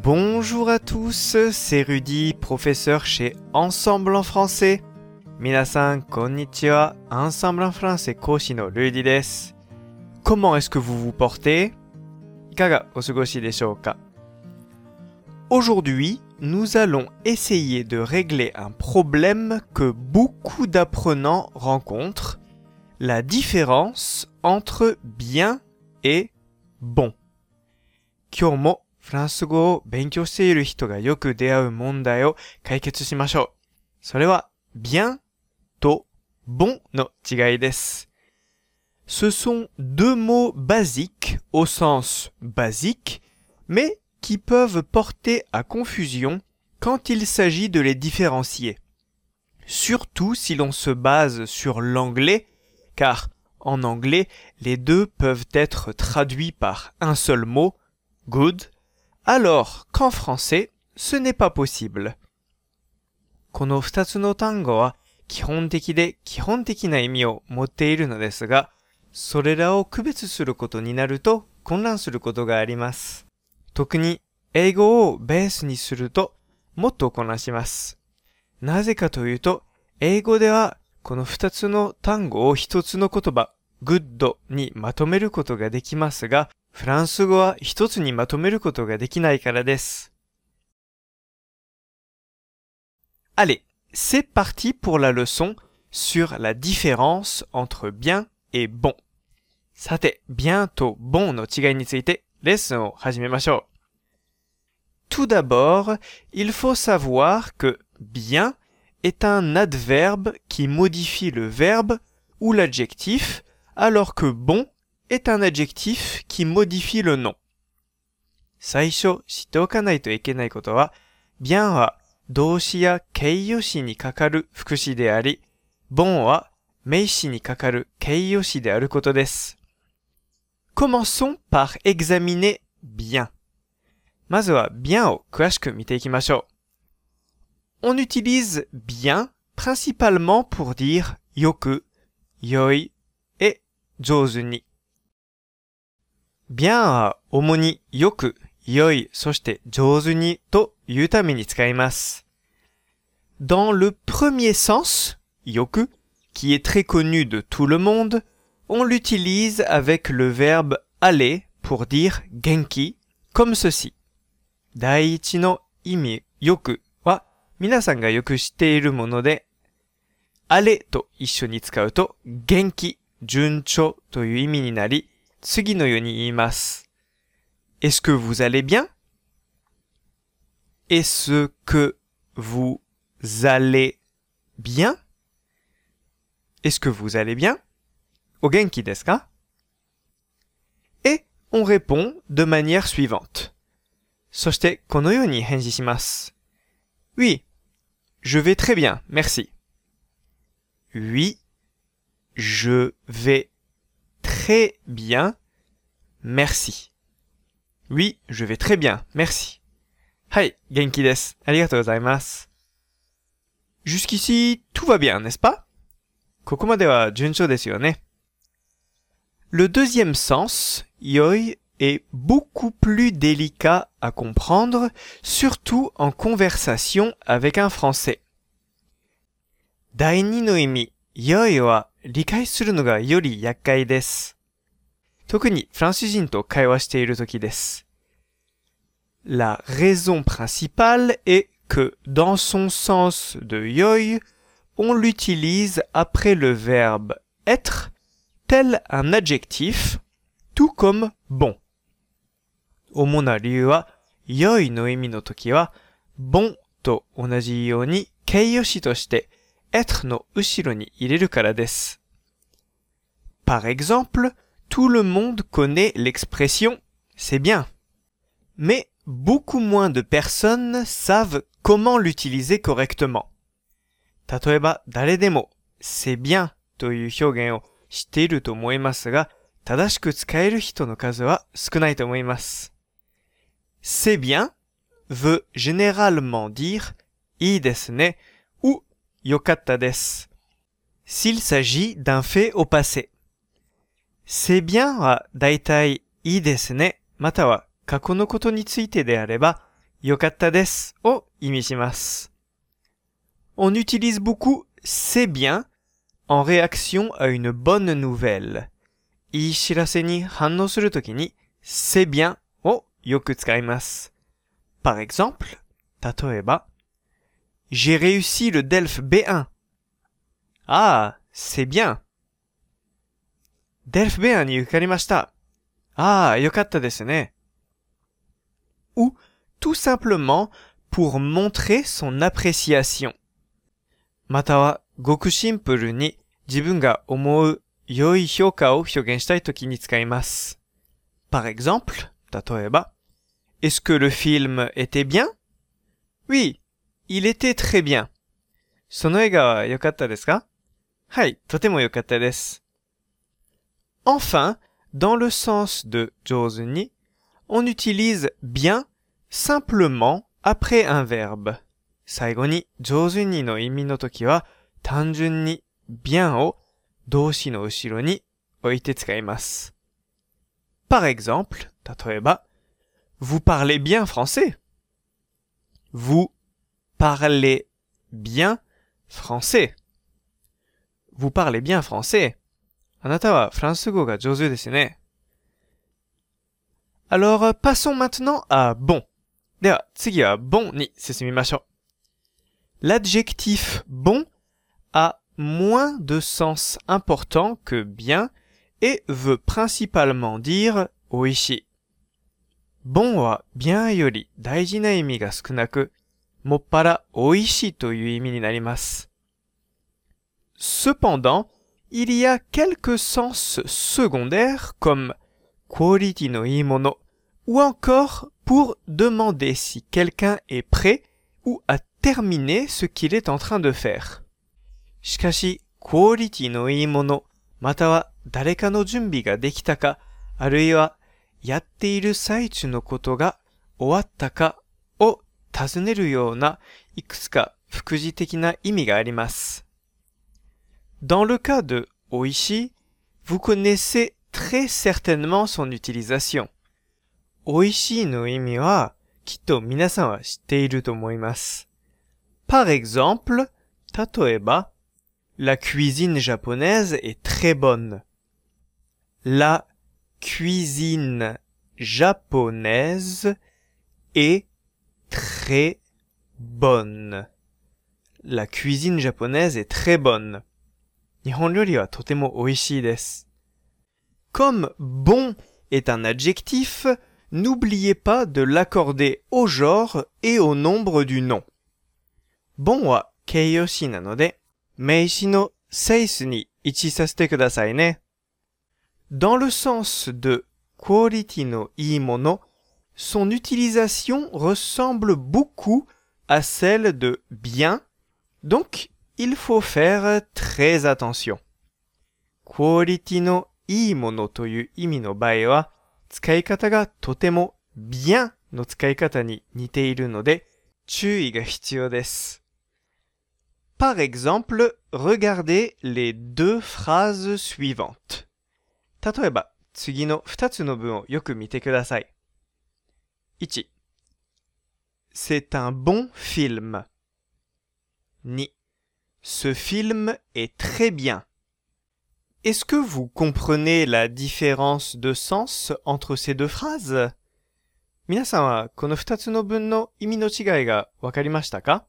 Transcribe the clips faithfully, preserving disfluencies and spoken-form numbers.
Bonjour à tous, c'est Rudy, professeur chez Ensemble en français. Minasan, konnichiwa, Ensemble en français, koshi no Rudy desu. Comment est-ce que vous vous portez? Ikaga osugoshi deshou ka? Aujourd'hui, nous allons essayer de régler un problème que beaucoup d'apprenants rencontrent, la différence entre bien et bon. Kyoumo フランス語を勉強している人がよく出会う問題を解決しましょう。それは bien と bon の違いです。Ce sont deux mots basiques au sens basique, mais qui peuvent porter à confusion quand il s'agit de les différencier. Surtout si l'on se base sur l'anglais, car en anglais, les deux peuvent être traduits par un seul mot, good, alors qu'en français, ce n'est pas possible. この二つの単語は基本的で基本的な意味を持っているのですが、それらを区別することになると混乱することがあります。特に英語をベースにするともっと混乱します。なぜかというと、英語ではこの二つの単語を一つの言葉、good にまとめることができますが、フランス語は一つにまとめることができないからです。Allez, c'est parti pour la leçon sur la différence entre bien et bon. さて、bien と bon の違いについてレッスンを始めましょう。Tout d'abord, il faut savoir que bien est un adverbe qui modifie le verbe ou l'adjectif, alors que bon est un adjectif qui modifie le nom. 最初知っておかないといけないことは、bien は動詞や形容詞にかかる副詞であり、bon は名詞にかかる形容詞であることです。Commençons par examiner bien. まずは bien を詳しく見ていきましょう。On utilise bien principalement pour dire よく、良い、et 上手に。bien は主によく、良い、そして上手にというために使います。Dans le premier sens, よく, qui est très connu de tout le monde, on l'utilise avec le verbe aller pour dire genki, comme ceci. 第一の意味、よくは皆さんがよく知っているもので、aller と一緒に使うと元気、順調という意味になり、次のように言います。Est-ce que vous allez bien? Est-ce que vous allez bien? Est-ce que vous allez bien? お元気ですか? Et on répond de manière suivante. そしてこのように返事します。Oui, je vais très bien, merci. Oui, je vais très bien, merci. Oui, je vais très bien, merci. はい、元気です。ありがとうございます。Jusqu'ici, tout va bien, n'est-ce pas? ここまでは順調ですよね。Le deuxième sens, 良い, est beaucoup plus délicat à comprendre, surtout en conversation avec un français. 第二の意味、良いは理解するのがより厄介です。特にフランス人と会話しているときです。La raison principale est que dans son sens de 良い, on l'utilise après le verbe être, tel un adjectif, tout comme bon. 主な理由は、良いの意味のときは、bon と同じように形容詞として、être の後ろに入れるからです。Par exemple, tout le monde connaît l'expression « c'est bien ». Mais beaucoup moins de personnes savent comment l'utiliser correctement. 例えば、誰でも「c'est bien」という表現を知っていると思いますが、正しく使える人の数は少ないと思います。C'est bien veut généralement dire いいですね ou よかったです。S'il s'agit d'un fait au passé. C'est bien はだいたいいいですね、または過去のことについてであれば、 よかったですを意味します。On utilise beaucoup c'est bien en réaction à une bonne nouvelle. いい知らせに反応するときに c'est bien をよく使います。Par exemple, 例えば J'ai réussi le D E L F B one. Ah, c'est bien. D E L F B one に受かりました。ああ、よかったですね。Ou tout simplement pour montrer son appréciation. またはごくシンプルに自分が思う良い評価を表現したいときに使います。Par exemple, 例えば Est-ce que le film était bien? Oui, il était très bien. その映画は良かったですか？はい、とても良かったです。Enfin, dans le sens de 上手に on utilise bien simplement après un verbe. 最後に上手にの意味のときは単純に bien を動詞の後ろに置いて使います。Par exemple, 例えば Vous parlez bien français. Vous parlez bien français. Vous parlez bien français. あなたはフランス語が上手ですね。Alors, passons maintenant à bon. では、次は bon に進みましょう。L'adjectif bon a moins de sens important que bien et veut principalement dire 美味しい。bon は bien より大事な意味が少なく、もっぱら美味しいという意味になります。Cependant, il y a quelques sens secondaires comme quality のいいもの ou encore pour demander si quelqu'un est prêt ou a terminé ce qu'il est en train de faire. しかし、quality のいいもの、または誰かの準備ができたか、あるいはやっている最中のことが終わったかを尋ねるようないくつか副次的な意味があります。Dans le cas de 美味しい、vous connaissez très certainement son utilisation. 美味しいの意味はきっと皆さんは知っていると思います。Par exemple, 例えば、La cuisine japonaise est très bonne. La cuisine japonaise est très bonne. La cuisine japonaise est très bonne. 日本料理はとても美味しいです。Comme bon est un adjectif, n'oubliez pas de l'accorder au genre et au nombre du nom. bon は形容詞なので、名詞のセイスに位置させてくださいね。Dans le sens de quality のいいもの、son utilisation ressemble beaucoup à celle de bien, donc il faut faire très attention. quality のいいものという意味の場合は、使い方がとても bien の使い方に似ているので、注意が必要です。Par exemple, regardez les deux phrases suivantes. 例えば、次のふたつの文をよく見てください。いち. C'est un bon film. に. Ce film est très bien. Est-ce que vous comprenez la différence de sens entre ces deux phrases? 皆さんはこのふたつの文の意味の違いがわかりましたか?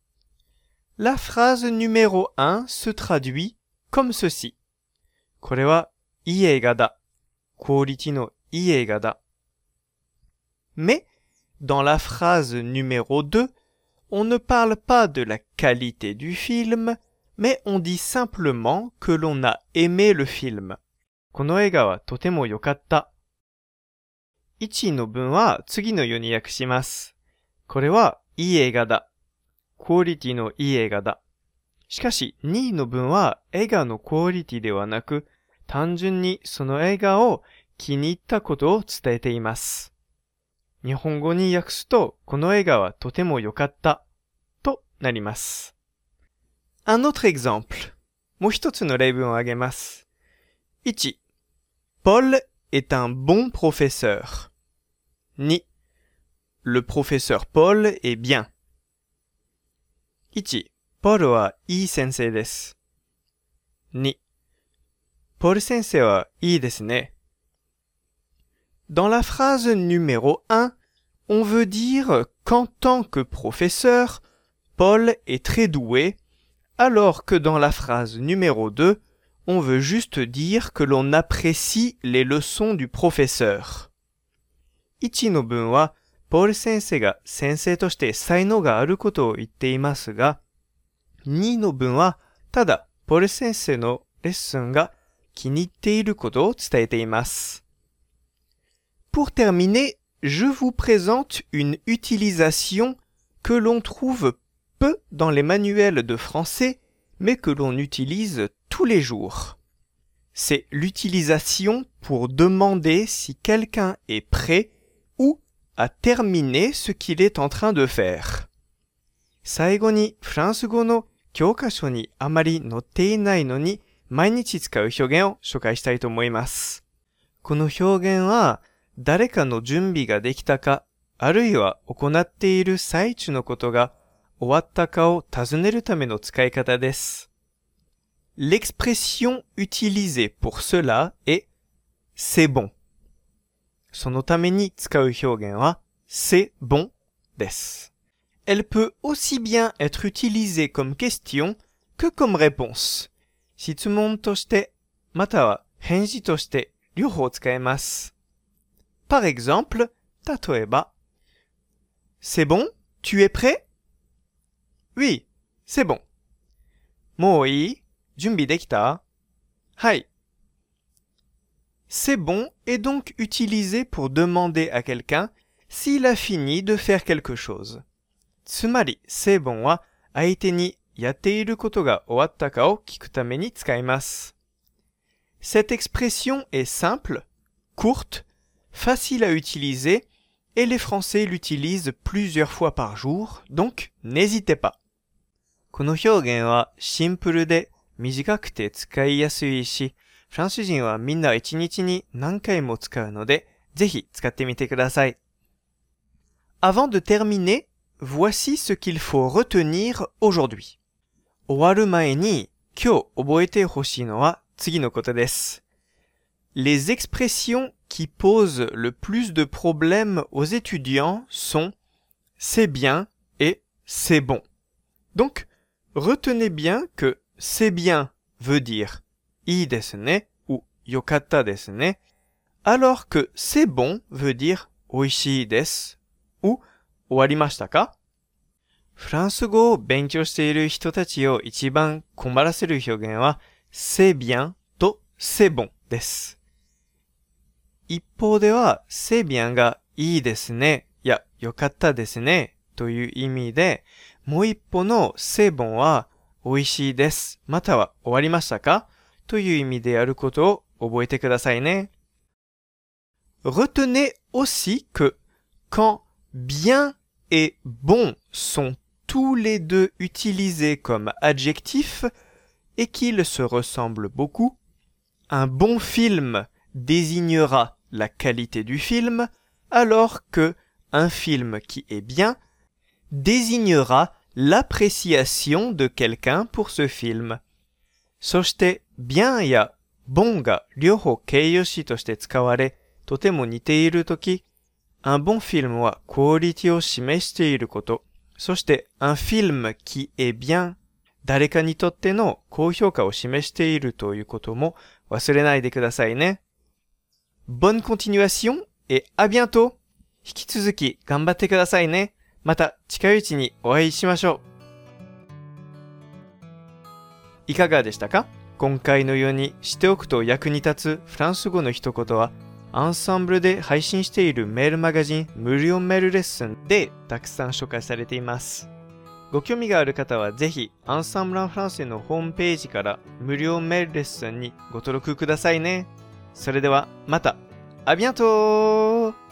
La phrase numéro un se traduit comme ceci. これはいい映画だ。クオリティのいい映画だ。Mais, dans la phrase numéro deux, on ne parle pas de la qualité du film, mais on dit simplement que l'on a aimé le film. この映画はとても良かった。いちの文は次のように訳します。これはいい映画だ。クオリティのいい映画だ。しかしにの文は映画のクオリティではなく、単純にその映画を気に入ったことを伝えています。日本語に訳すと、この映画はとても良かったとなります。Un autre exemple. もう一つの例文を挙げます。いち. Paul est un bon professeur. に. le professeur Paul est bien. いち. ポールはいい先生です。に. ポール先生はいいですね。Dans la phrase numéro un, on veut dire qu'en tant que professeur, Paul est très doué, alors que dans la phrase numéro deux, on veut juste dire que l'on apprécie les leçons du professeur. いちの文は、ポール先生が先生として才能があることを言っていますが、にの文は、ただ、ポール先生のレッスンが気に入っていることを伝えています。Pour terminer, je vous présente une utilisation que l'on trouve peu dans les manuels de français, mais que l'on utilise tous les jours. C'est l'utilisation pour demander si quelqu'un est prêt ou a terminé ce qu'il est en train de faire. 最後にフランス語の教科書にあまり載っていないのに毎日使う表現を紹介したいと思います。この表現は誰かの準備ができたか、あるいは行っている最中のことが終わったかを尋ねるための使い方です。L'expression utilisée pour cela est « c'est bon ». そのために使う表現は「c'est bon」です。Elle peut aussi bien être utilisée comme question que comme réponse. 質問として、または返事として両方使えます。Par exemple, 例えば C'est bon? Tu es prêt? Oui, c'est bon. もういい? 準備できた? はい。C'est bon est donc utilisé pour demander à quelqu'un s'il a fini de faire quelque chose. つまり、c'est bon は相手にやっていることが終わったかを聞くために使います。Cette expression est simple, courte, facile à utiliser et les Français l'utilisent plusieurs fois par jour, donc n'hésitez pas. この表現はシンプルで短くて使いやすいし、フランス人はみんな一日に何回も使うので、ぜひ使ってみてください。Avant de terminer, voici ce qu'il faut retenir aujourd'hui. 終わる前に今日覚えてほしいのは次のことです。Les expressions qui posent le plus de problèmes aux étudiants sont « c'est bien » et « c'est bon ». Donc, retenez bien que « c'est bien » veut dire «いいですね」ou «よかったですね」alors que « c'est bon » veut dire «おいしいです」ou «終わりましたか？」フランス語を勉強している人たちを一番困らせる表現は「c'est bien」と「c'est bon」です。一方では、c'est bien がいいですね、やよかったですね、という意味で、もう一歩のc'est bon は美味しいです、または終わりましたかという意味でやることを覚えてくださいね。Retenez aussi que quand bien et bon sont tous les deux utilisés comme adjectifs et qu'ils se ressemblent beaucoup, un bon film désignera la qualité du film, alors que un film qui est bien désignera l'appréciation de quelqu'un pour ce film. そして、bien や bon が両方形容詞として使われ、とても似ているとき、un bon film はクオリティを示していること、そして、un film qui est bien、誰かにとっての高評価を示しているということも忘れないでくださいね。Bonne continuation et à bientôt! 引き続き頑張ってくださいね。また近いうちにお会いしましょう。いかがでしたか？今回のようにしておくと役に立つフランス語の一言は、アンサンブルで配信しているメールマガジン無料メールレッスンでたくさん紹介されています。ご興味がある方はぜひアンサンブル・アン・フランセのホームページから無料メールレッスンにご登録くださいね。それではまた。À bientôt!